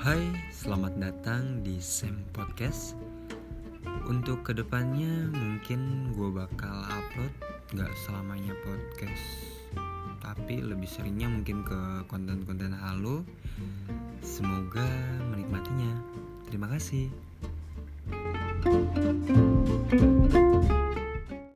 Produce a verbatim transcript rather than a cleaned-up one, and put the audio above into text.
Hai, selamat datang di Sam Podcast. Untuk kedepannya mungkin gue bakal upload gak selamanya podcast, tapi lebih seringnya mungkin ke konten-konten halu. Semoga menikmatinya. Terima kasih.